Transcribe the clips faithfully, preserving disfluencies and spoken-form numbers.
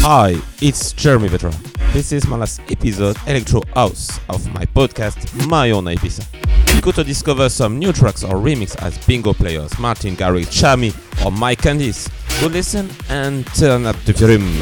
Hi, it's Jeremy Vetra. This is my last episode Electro House of my podcast My Own Ibiza. You go to discover some new tracks or remix as bingo players Martin Garrix, Chami or Mike Candice. Go listen and turn up the volume.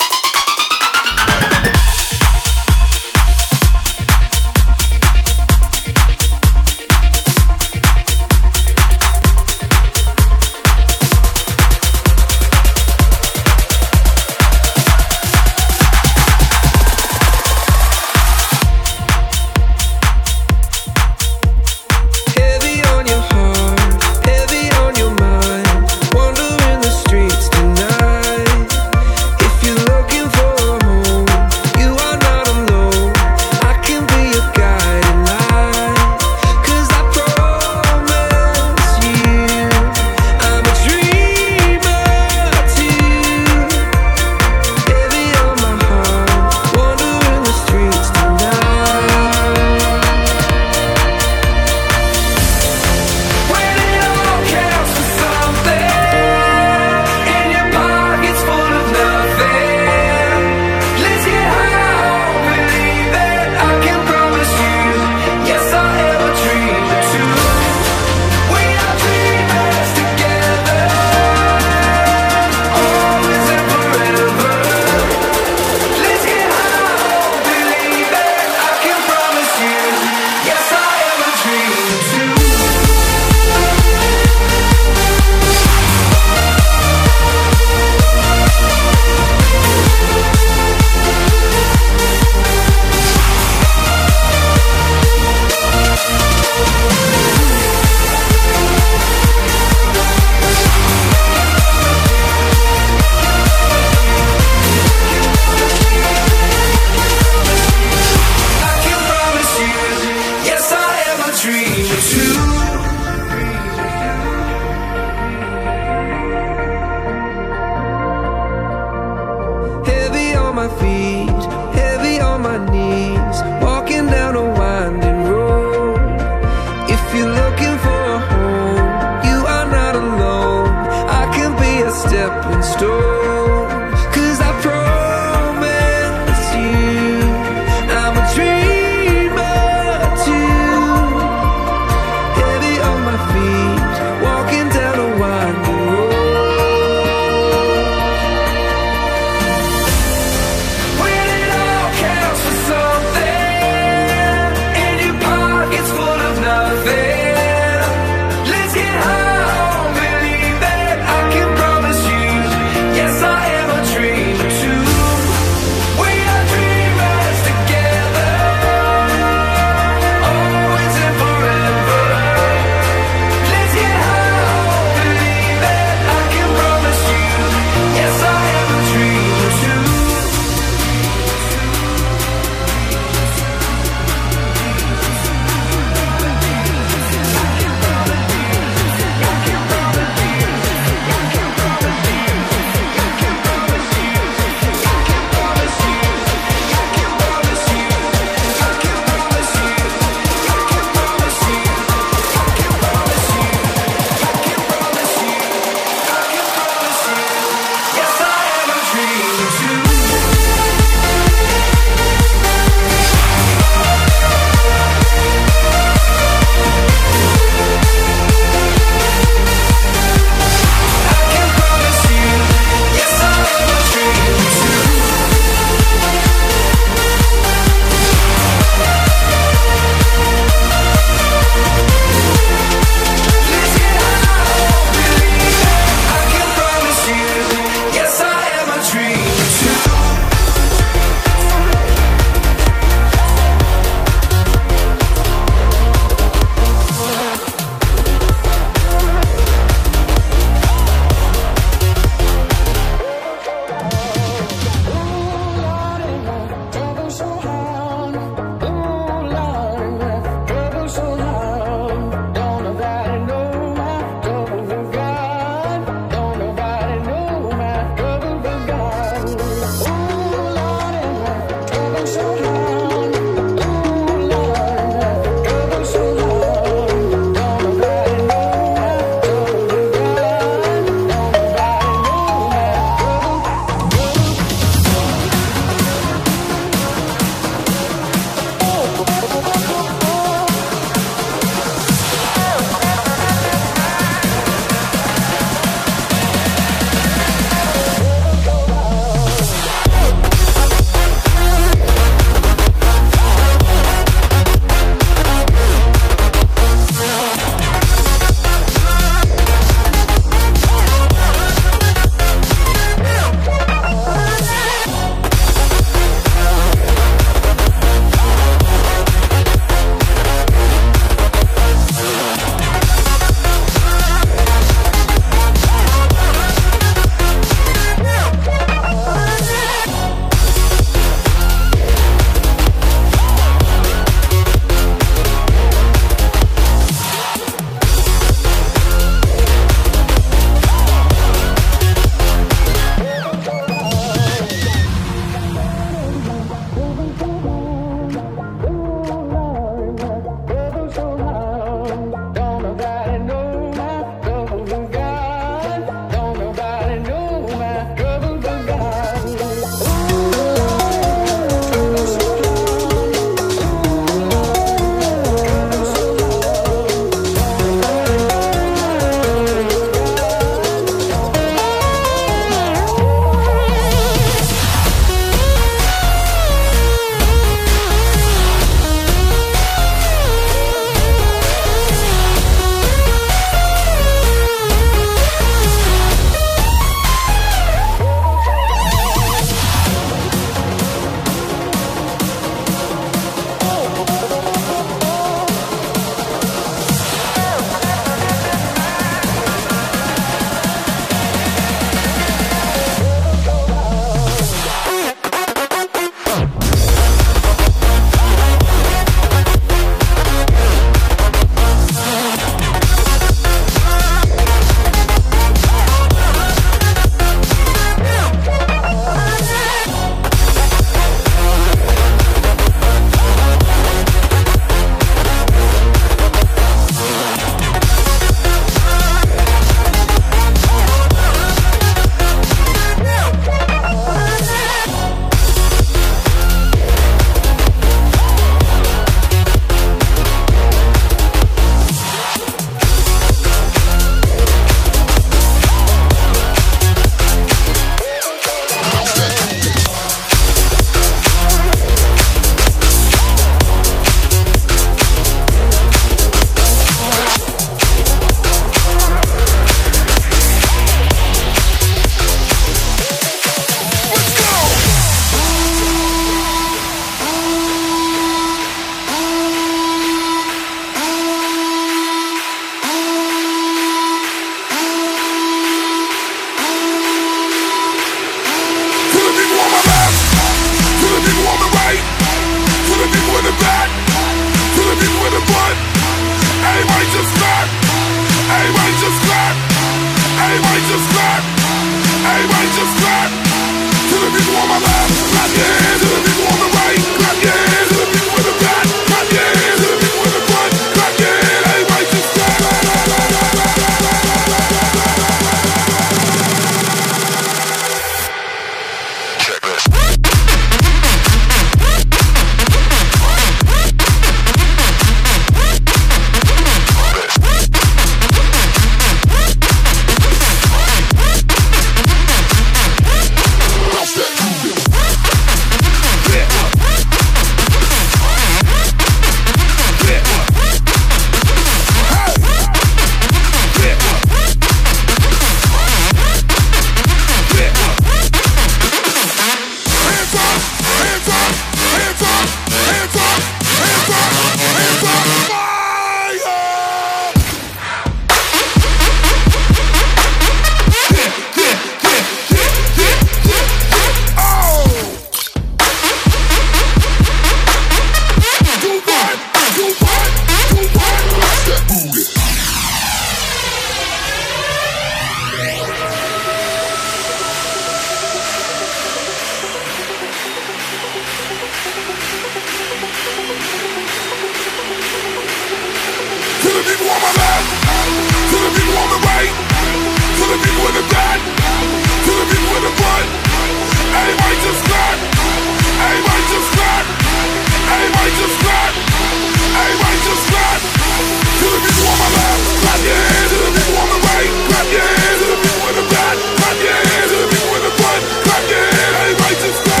the right, to the people in the back, to the people in the front. Everybody just clap, everybody just clap, everybody just clap, everybody just clap. To the people on my left, clap your hands. To the people on the right, clap your hands. To the people in the back, clap your hands. To the people in the front, clap your hands. Everybody just clap.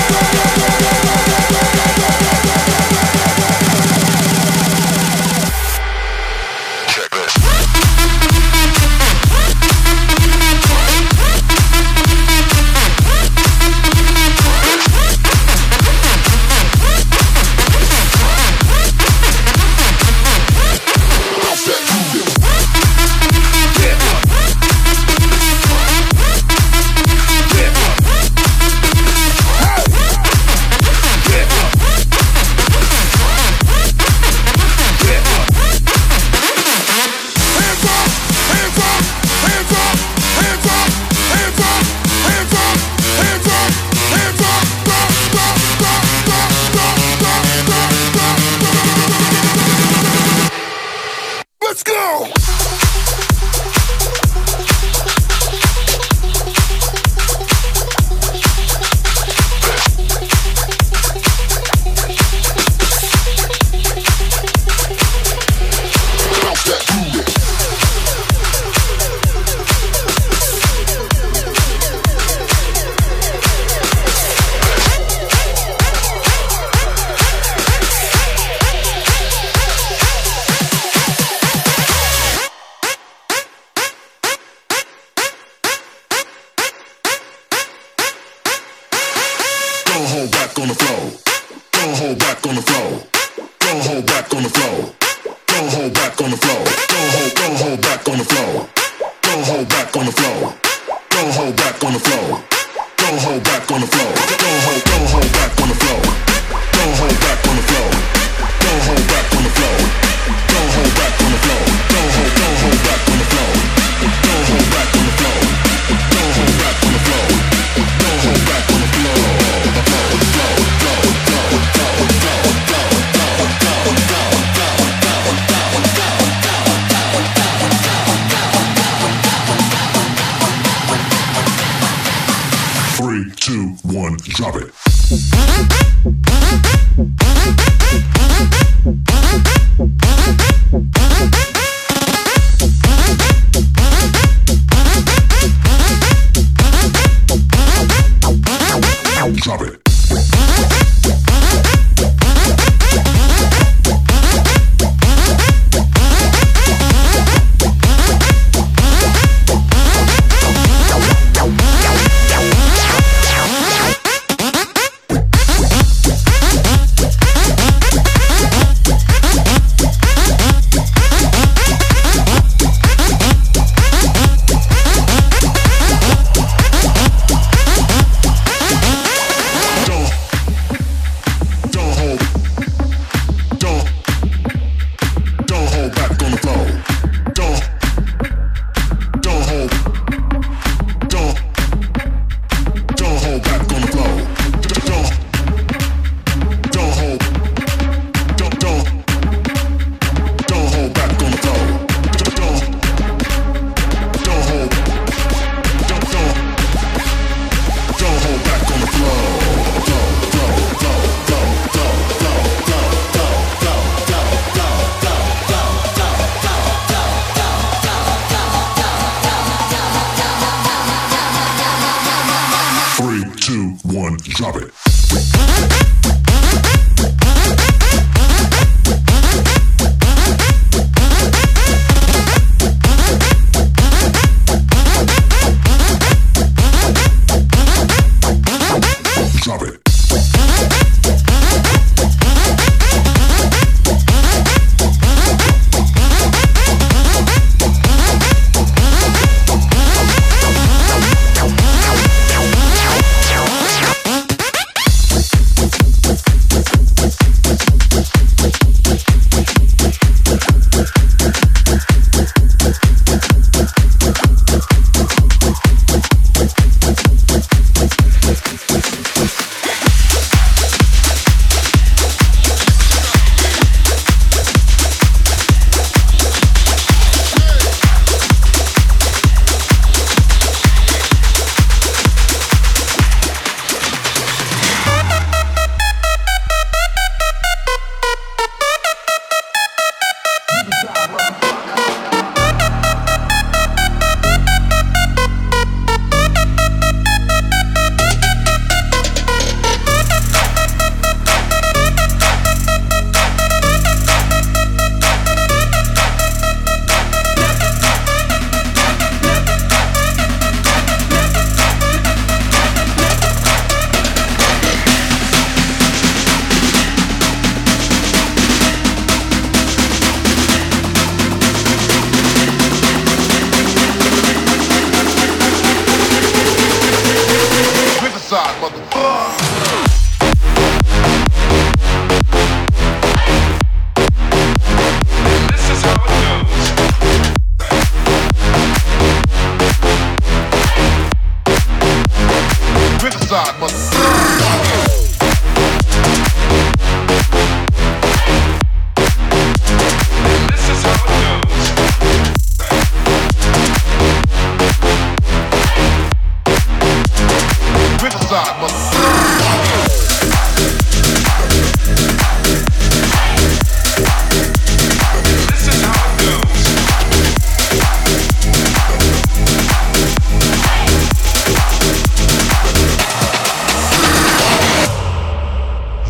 Let's go! Three, two, one, drop it. Drop it.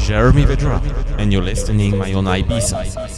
Jeremy Vedra, and you're listening Mayona Ibiza.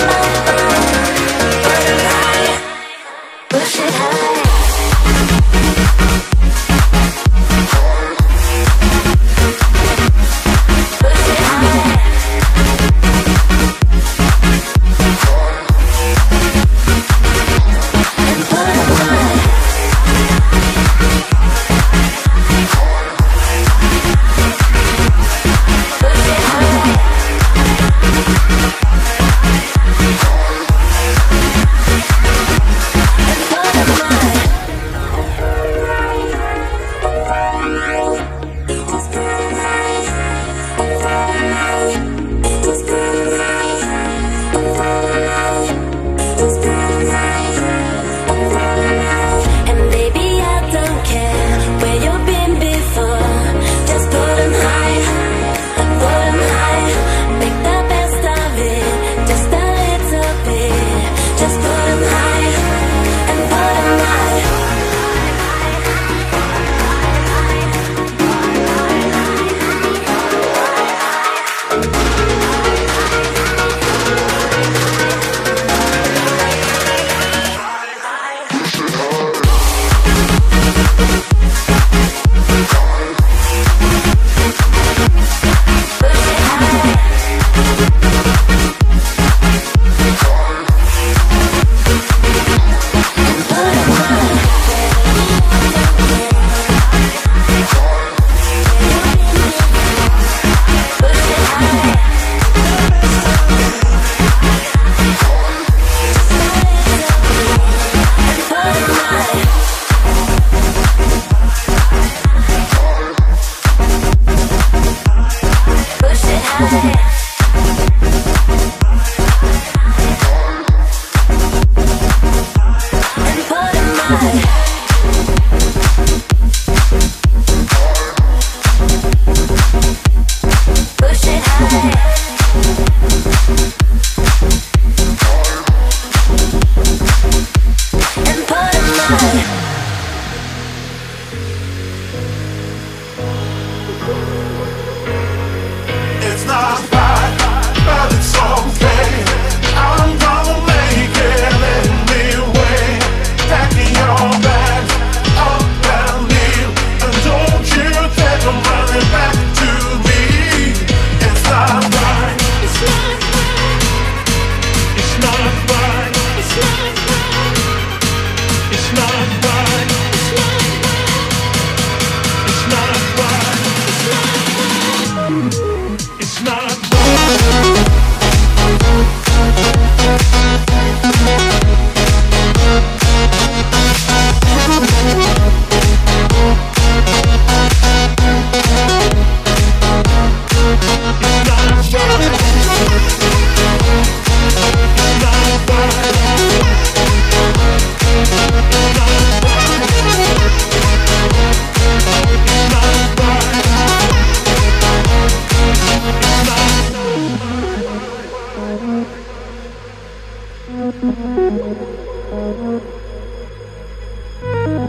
Push it high.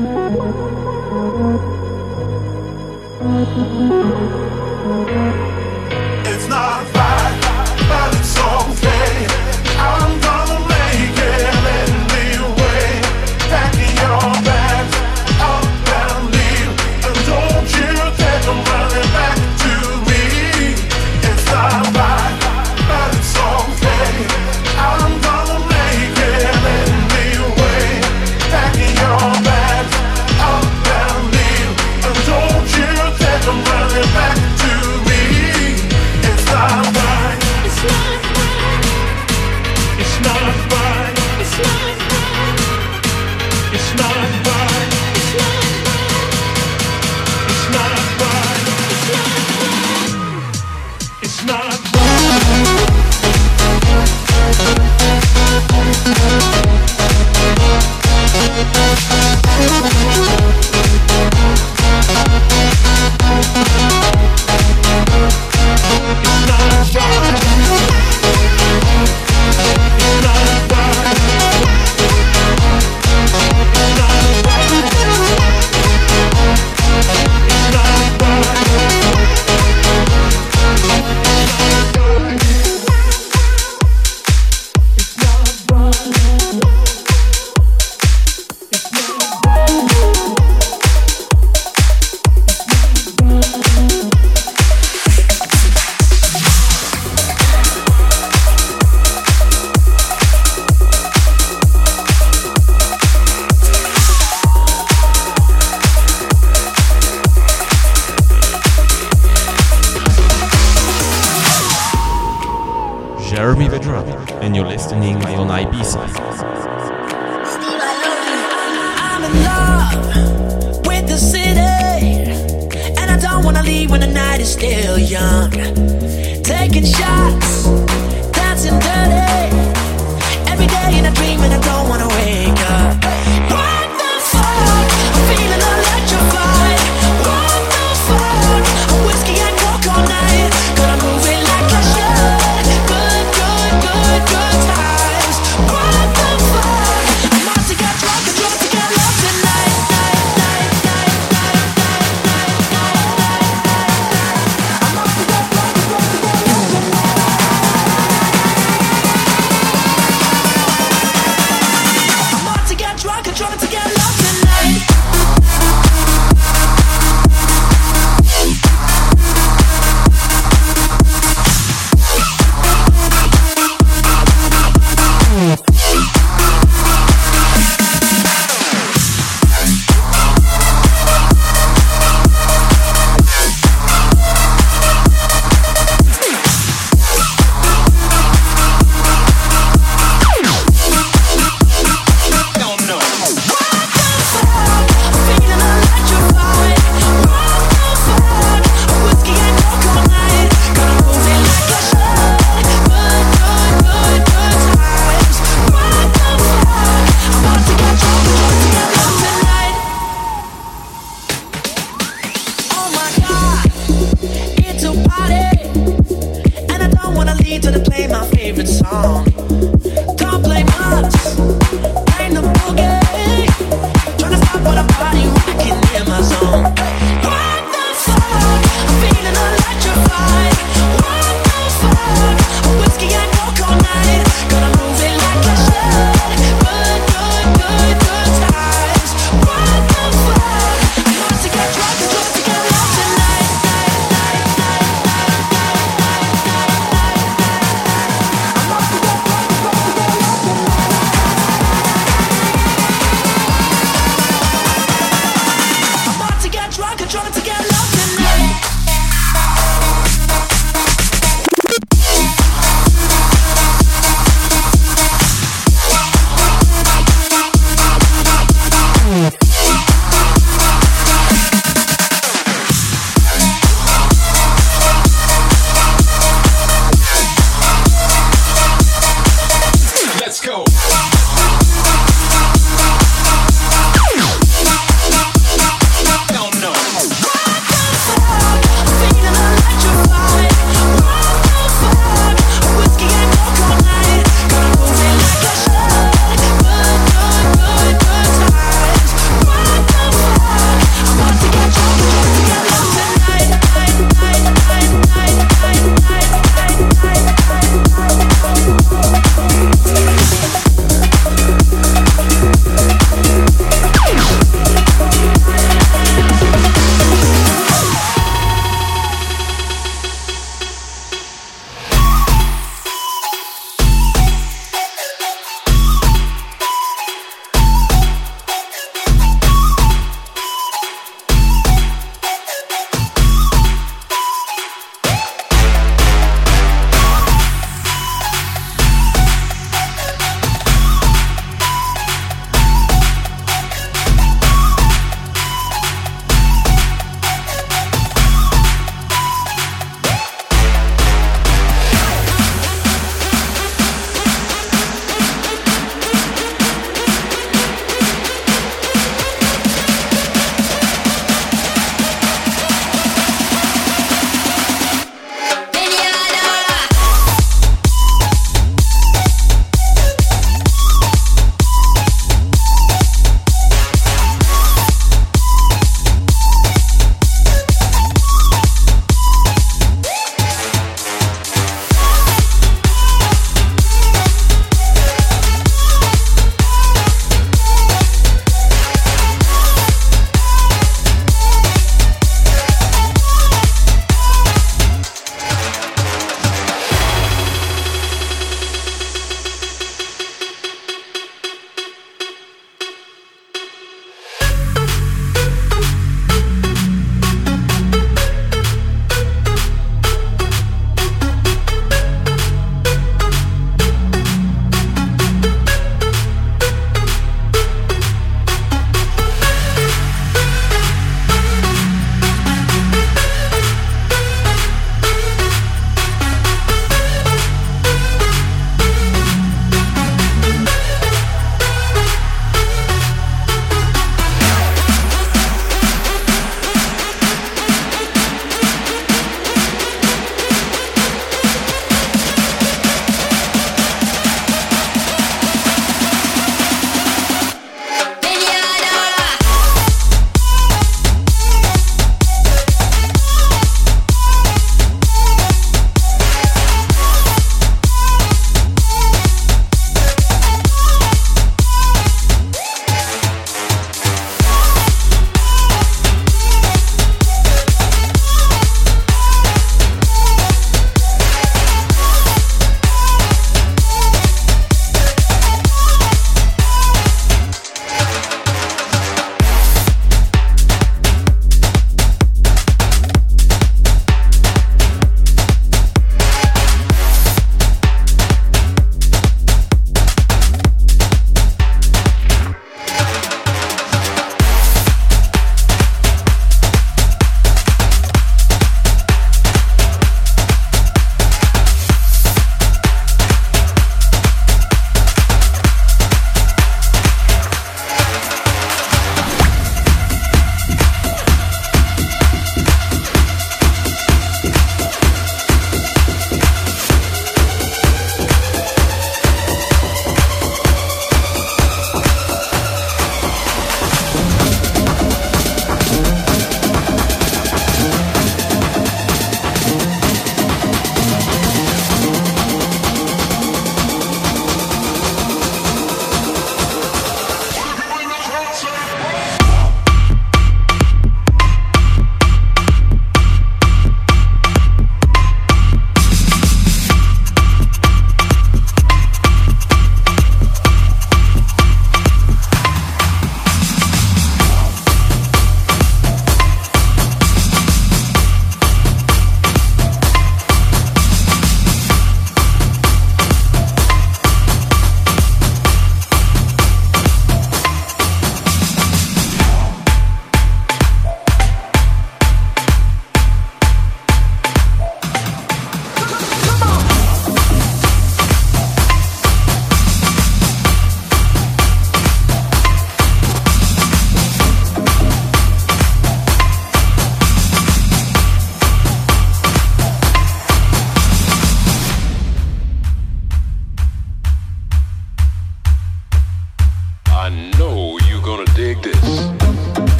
It's not right, but it's okay. I'm gonna make it anyway. Packing your bags up and leave, and don't you take them running back to me. It's not right, but it's okay. I'm gonna make it anyway. Packing your bags up and leave, and don't you take them running back to me. It's not right. It's not right. It's not right. It's not right. It's not right. It's not right. It's not right. It's not Jeremy Vedra, and you're listening on Ibiza. I'm in love with the city, and I don't wanna leave when the night is still young. Taking shots, dancing dirty, every day in a dream and I don't wanna wake up. What the fuck? I'm feeling electrified. What the fuck? A whiskey and coke all night, gonna move it like I should. Good, good, good, good times. What the fuck? I'm about to get drunk and drunk to get love tonight. Night, night, night, night, night, night, night, night, night. I'm about to get drunk and drunk to get love tonight. I'm about to get drunk and drunk to get love tonight. To the play my favorite song. Don't play much, ain't the boogie. Tryna stop all the party rocking in my zone. What the fuck? I'm feeling electrified. What the fuck? A whiskey and coke all night, gonna move it like I should. Good, good, good, good times. What the fuck? I'm about to get drunk and drunk to get love tonight. Night, night, night, night, night, night, night, night. Drunk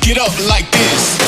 it up like this.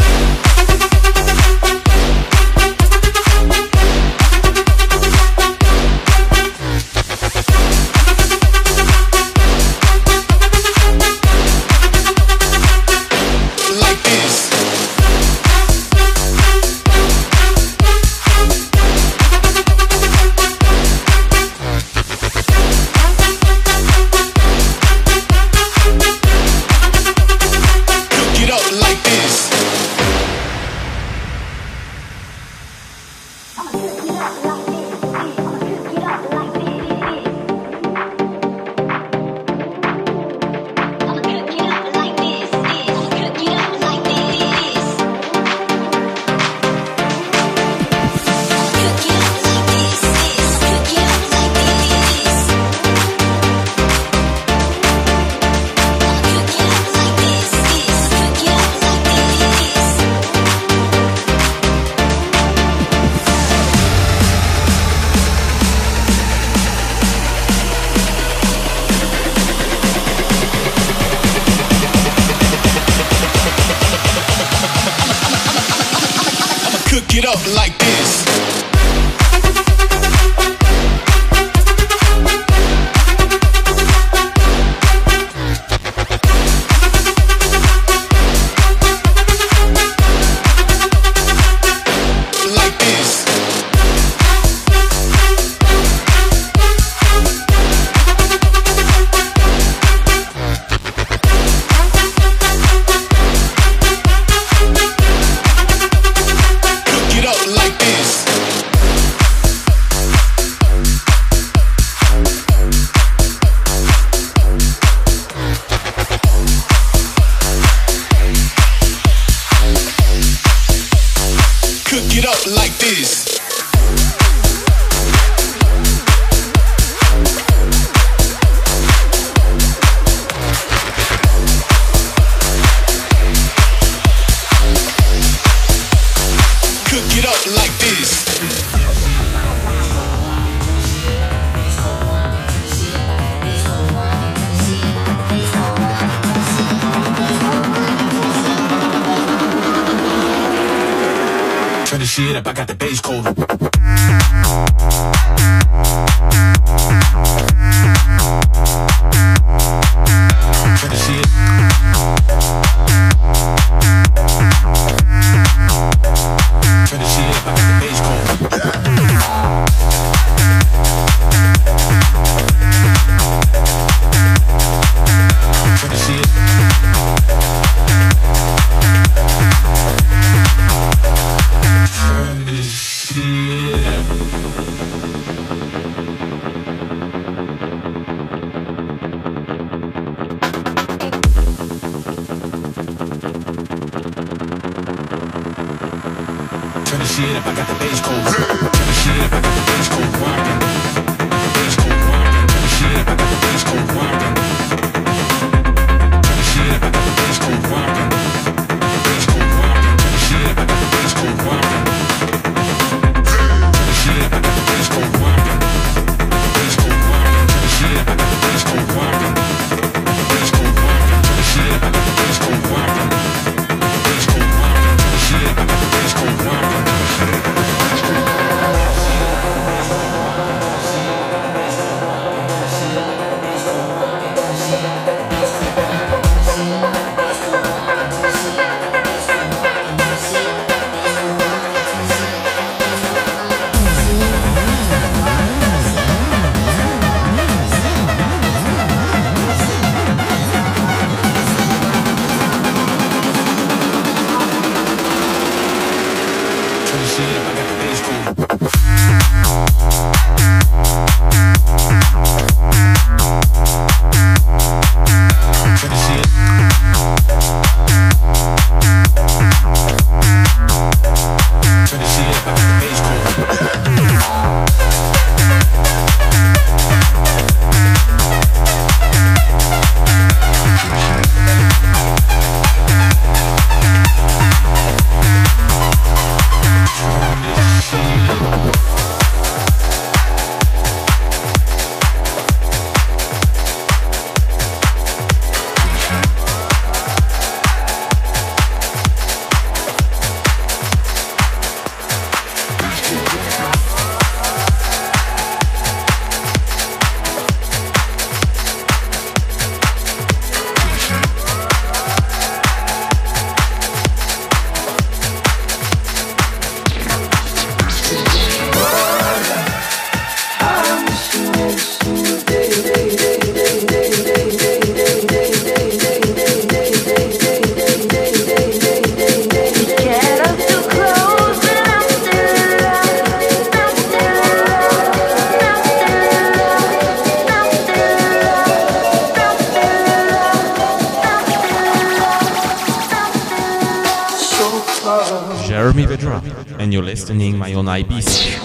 Get up like this. Get up like this. Cook it up like this. Turn the shit up, I got the bass cold. Turn the shit. Turn the shit up, I got the bass cold. Turn the shit. Turn this shit up. Turn the shit up, I got the bass cold. Turn the shit up, I got the bass cold rockin'. Bass cold rockin'. Turn the shit up, I got the bass cold rockin'. Turn the shit up, I got the bass cold rockin'. Bass cold rockin'. Turn the shit up, I got the bass cold rockin'. Turn the shit up, I got the bass cold rockin'. Bass cold rockin'. Turn the shit up, I got the bass cold rockin'. Bass cold rockin'. Turn the shit up, I got the bass cold rockin'. Bass cold rockin'. Turn the shit up, I got the bass cold rockin'. Vedra, and you're listening Mayona Ibiza.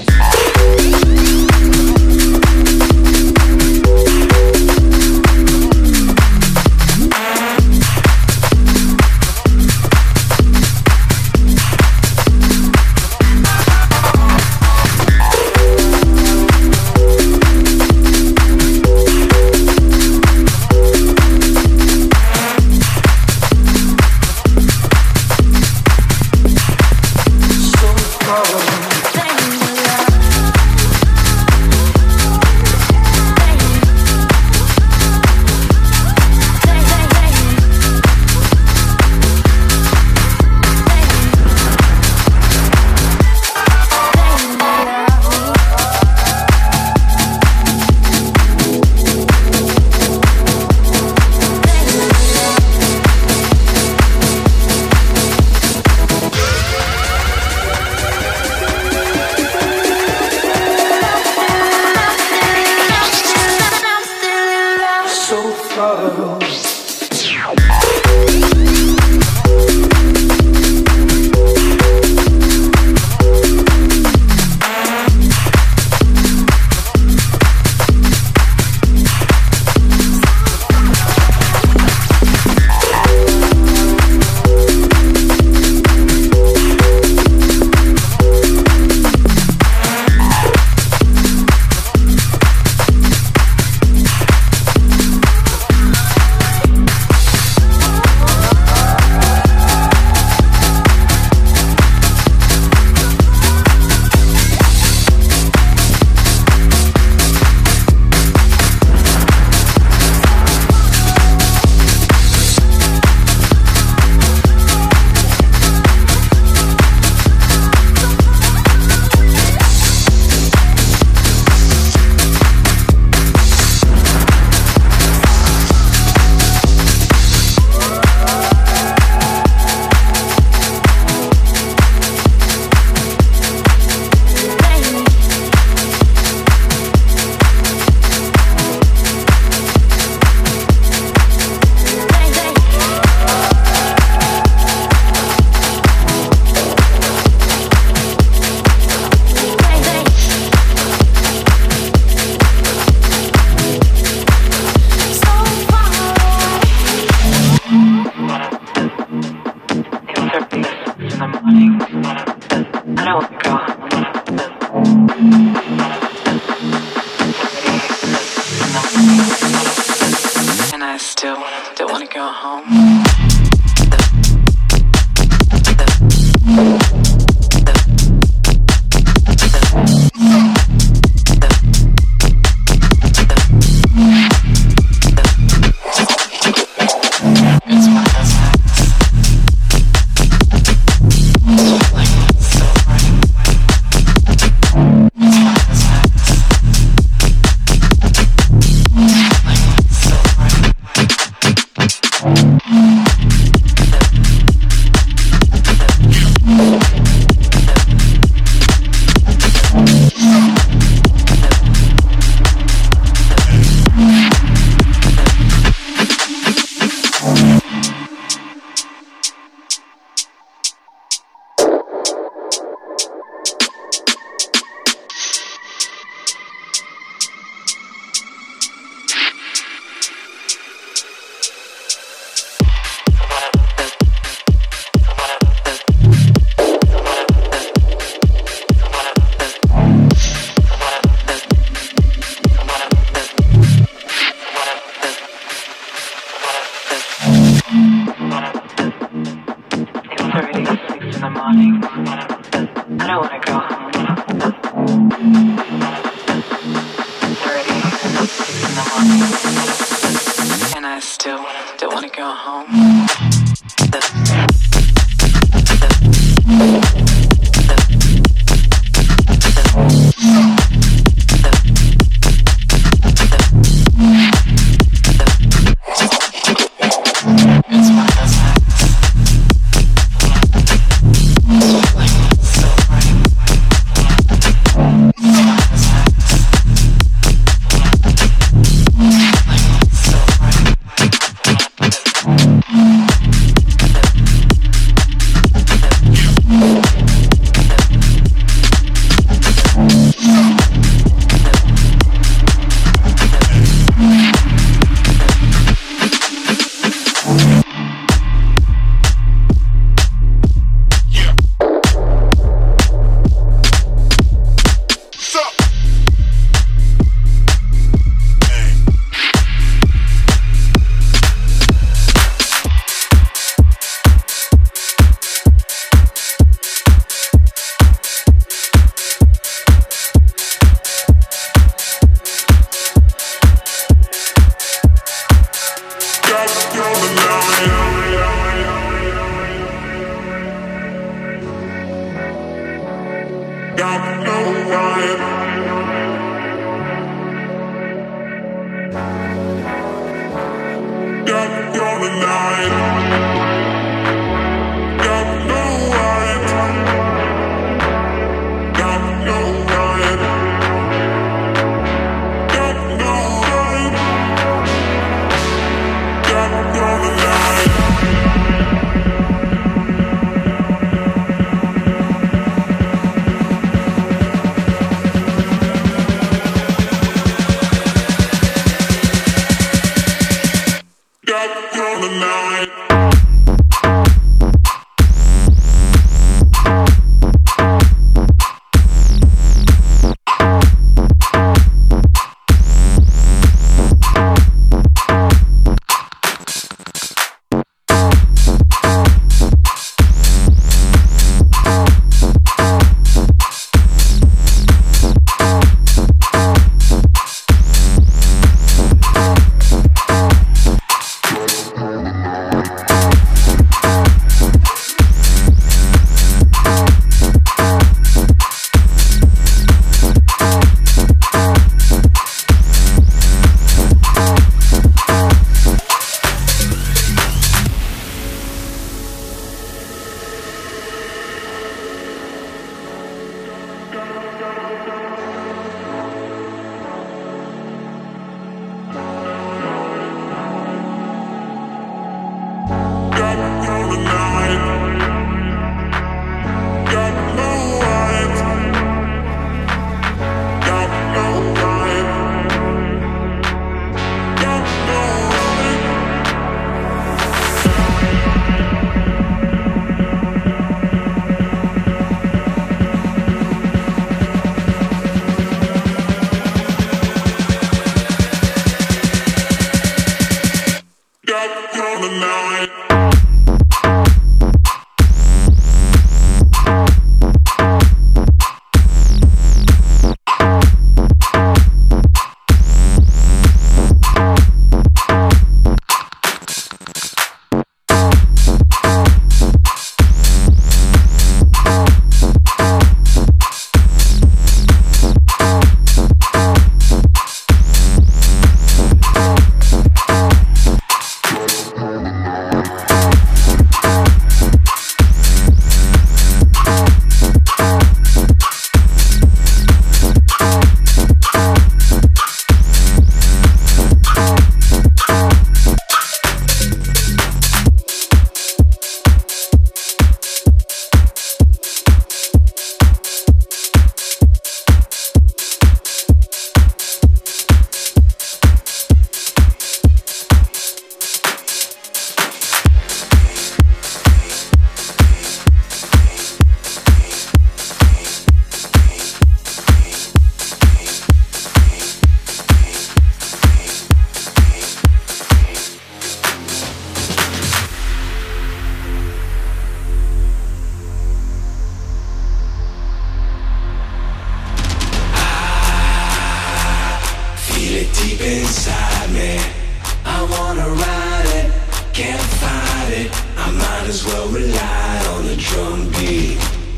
inside me. I wanna ride it, can't fight it. I might as well rely on the drum beat.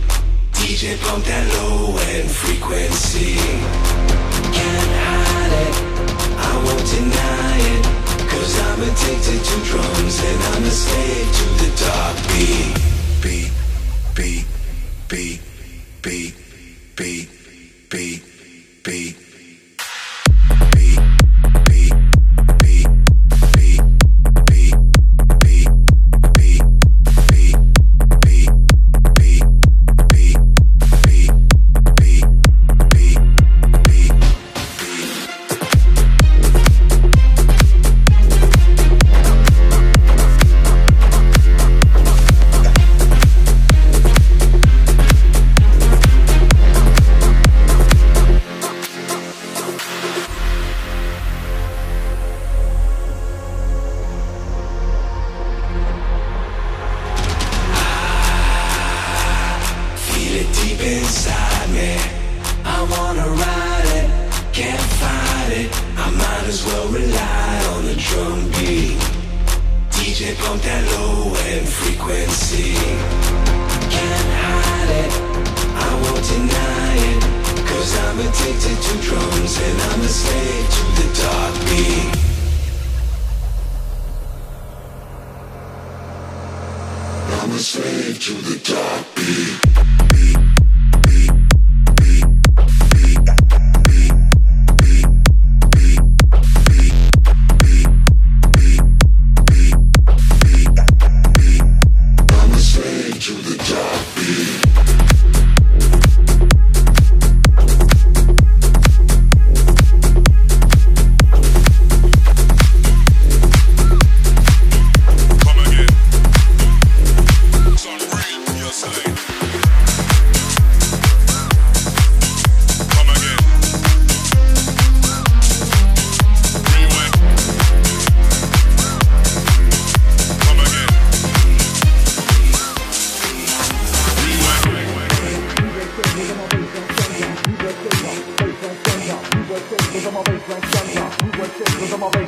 D J pump that low end frequency. Can't hide it, I won't deny it. Cause I'm addicted to drums and I'm a slave to the dark beat. Beat, beat, beat, beat, beat, beat, beat. Inside me, I wanna ride it, can't fight it. I might as well rely on the drum beat. D J pump that low end frequency. Can't hide it, I won't deny it. Cause I'm addicted to drums and I'm a slave to the dark beat. I'm a slave to the dark beat.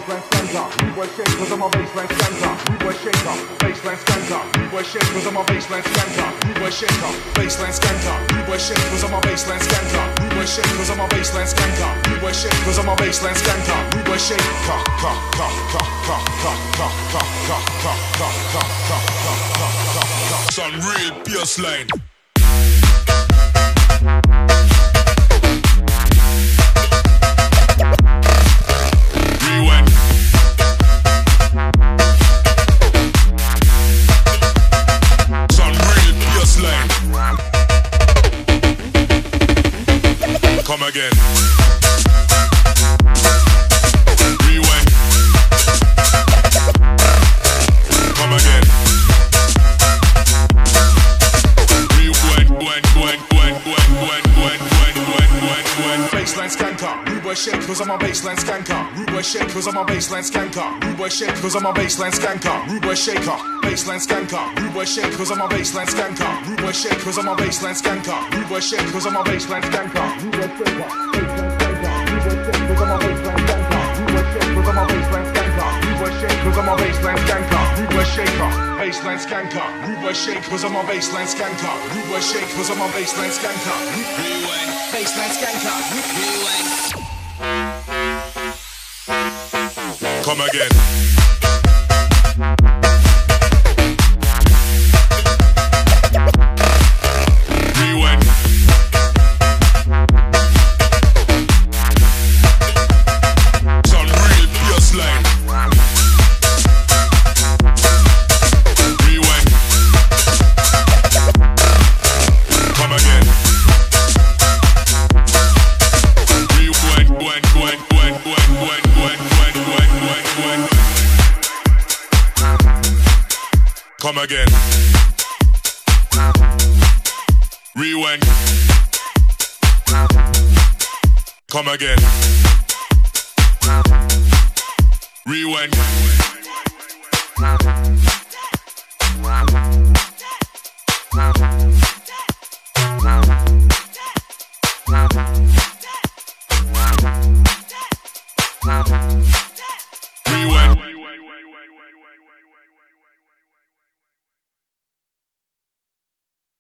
baseline skanker. Rude boy shake cause I'm a baseline skanker. Rude boy shaker, baseline skanker. Rude boy shake cause I'm a baseline skanker. Rude boy shaker, baseline skanker. Rude boy shake cause I'm a baseline skanker. Rude boy shake cause I'm a baseline skanker. Rude boy shake cause I'm a baseline skanker. Rude boy shake ka ka ka ka ka ka ka ka ka ka ka ka ka ka ka ka. Some real baseline. Rewind. Some real baseline. Come again. Rewind. Come again. Rewind, wind, wind, wind, wind, wind, wind, wind, wind, wind, wind. Baseline skanker. Rude boy shake cause I'm a baseline skanker. Rude boy shake cause I'm a baseline skanker. Rude boy shake cause I'm a baseline skanker. Rude boy shaker, baseline skanker. Rude boy shake cause I'm a baseline skanker. Rude boy shake cause I'm a baseline skanker. Rude boy shake cause I'm a baseline skanker. Rude boy shaker, baseline skanker. Rude boy shake cause I'm a baseline skanker. Rude boy shake cause I'm a baseline skanker. Rewind. Baseline skanker. Rewind. Come again. Rewind. Some real baseline. Rewind. Come again. Rewind, wind, wind, wind, wind, wind, wind, wind, wind, wind, wind. Come again. Rewind. Come again. Rewind.